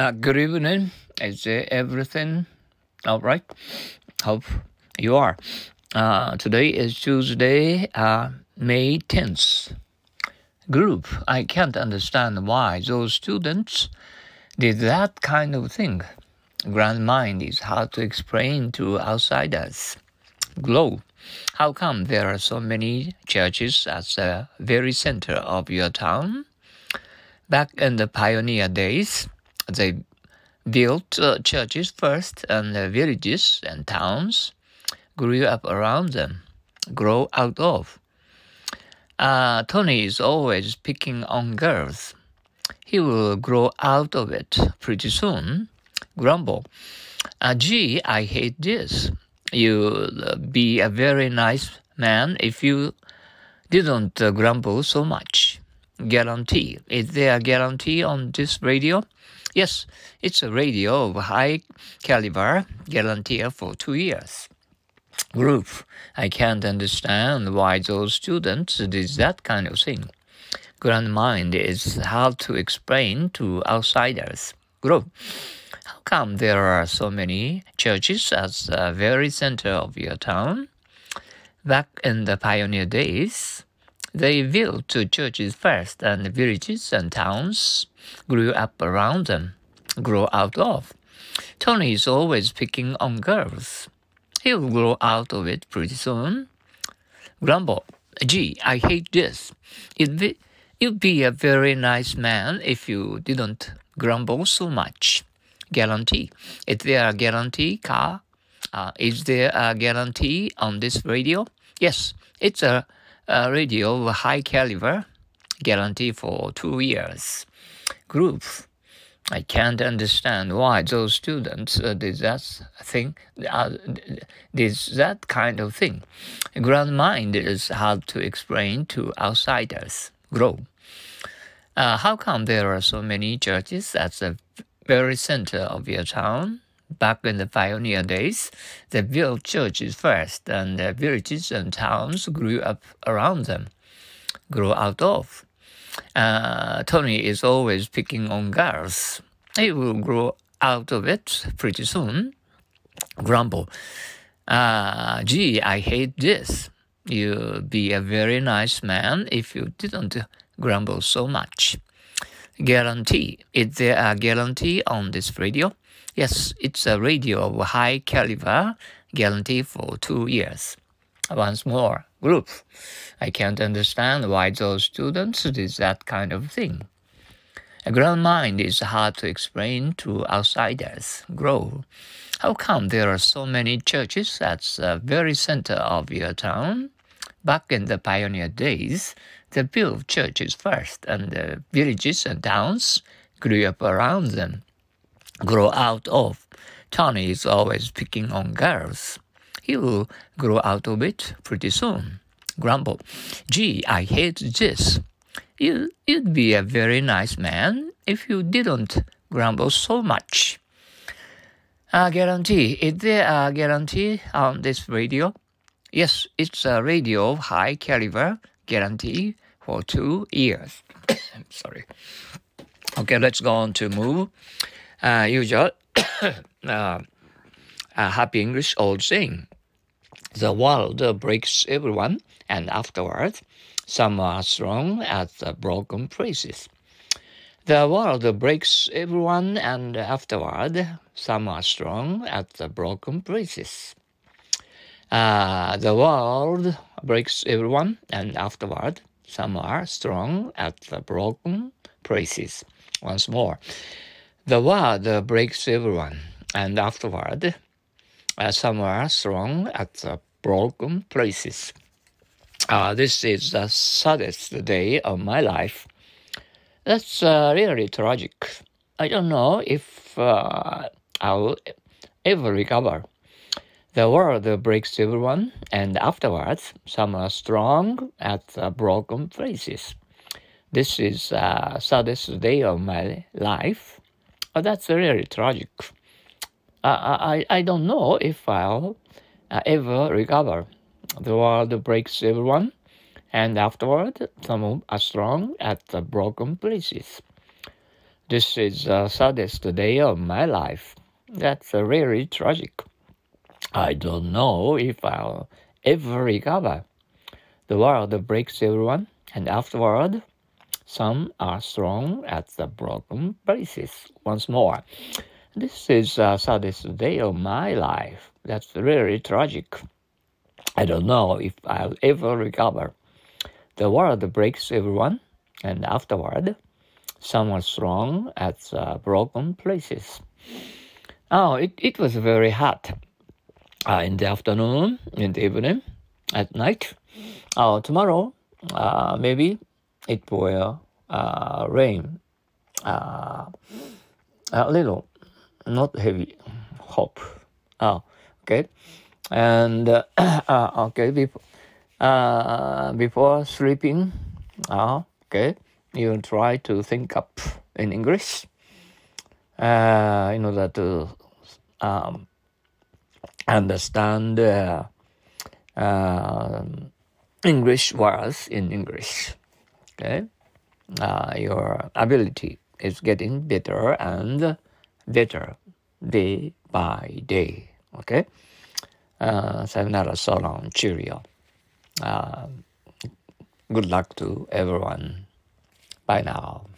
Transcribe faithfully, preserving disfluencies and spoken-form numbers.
Uh, good evening. Is uh, everything all right? Hope you are. Uh, today is Tuesday, uh, May tenth. Group. I can't understand why those students did that kind of thing. Grand mind is hard to explain to outsiders. Glow. How come there are so many churches at the very center of your town? Back in the pioneer days, they built uh, churches first, and the villages and towns grew up around them, grow out of. Uh, Tony is always picking on girls. He will grow out of it pretty soon. Grumble. Uh, gee, I hate this. You'll be a very nice man if you didn't uh, grumble so much. Guarantee. Is there a guarantee on this radio? Yes, it's a radio of high caliber, guarantee for two years. Group. I can't understand why those students did that kind of thing. Grand mind is hard to explain to outsiders. Group. How come there are so many churches at the very center of your town? Back in the pioneer days, they built churches first, and villages and towns grew up around them, grow out of. Tony is always picking on girls. He'll grow out of it pretty soon. Grumble. Gee, I hate this. You'd be, you'd be a very nice man if you didn't grumble so much. Guarantee. Is there a guarantee car? Uh, is there a guarantee on this radio? Yes, it's a, a radio of high caliber, guarantee for two years. Group. I can't understand why those students uh, did that thing, uh, did that kind of thing. Grand mind is hard to explain to outsiders. Grow. Uh, how come there are so many churches at the very center of your town? Back in the pioneer days, they built churches first, and the villages and towns grew up around them, grew out of. Uh, Tony is always picking on girls. He will grow out of it pretty soon. Grumble. Uh, gee, I hate this. You'd be a very nice man if you didn't grumble so much. Guarantee. Is there a guarantee on this radio? Yes, it's a radio of high caliber, guarantee for two years. Once more, group. I can't understand why those students did that kind of thing. A grand mind is hard to explain to outsiders. Grow. How come there are so many churches at the very center of your town? Back in the pioneer days, they built churches first, and the villages and towns grew up around them, grow out of. Tony is always picking on girls. He will grow out of it pretty soon. Grumble. Gee, I hate this. You, you'd be a very nice man if you didn't grumble so much. A guarantee. Is there a guarantee on this radio? Yes, it's a radio of high caliber, guarantee for two years. Sorry. Okay, let's go on to move. Uh, usual uh, a happy English old saying. The world breaks everyone, and afterwards, some are strong at the broken places. The world breaks everyone, and afterward, some are strong at the broken places. Uh, the world breaks everyone, and afterward, some are strong at the broken places. Once more. The world breaks everyone, and afterward, uh, some are strong at the broken places. Uh, this is the saddest day of my life. That's uh, really tragic. I don't know if uh, I'll ever recover. The world breaks everyone, and afterwards, some are strong at the broken places. This is the uh, saddest day of my life. Oh, that's really tragic. Uh, I, I don't know if I'll uh, ever recover. The world breaks everyone, and afterward, some are strong at the broken places. This is the saddest day of my life. That's uh, really tragic. I don't know if I'll ever recover. The world breaks everyone, and afterward, some are thrown at the broken places once more. This is the saddest day of my life. That's really tragic. I don't know if I'll ever recover. The world breaks everyone, and afterward, some are thrown at the broken places. Oh, it, it was very hot uh, in the afternoon, in the evening, at night. Oh, tomorrow, uh, maybe it will uh, rain uh, a little, not heavy. Hope. Oh, okay. And uh, uh, okay, before uh, before sleeping, uh, okay, you try to think up in English uh, in order to um, understand uh, uh, English words in English. Okay, uh, your ability is getting better and better day by day. Okay, uh, sayonara, so long, cheerio. Uh, good luck to everyone. Bye now.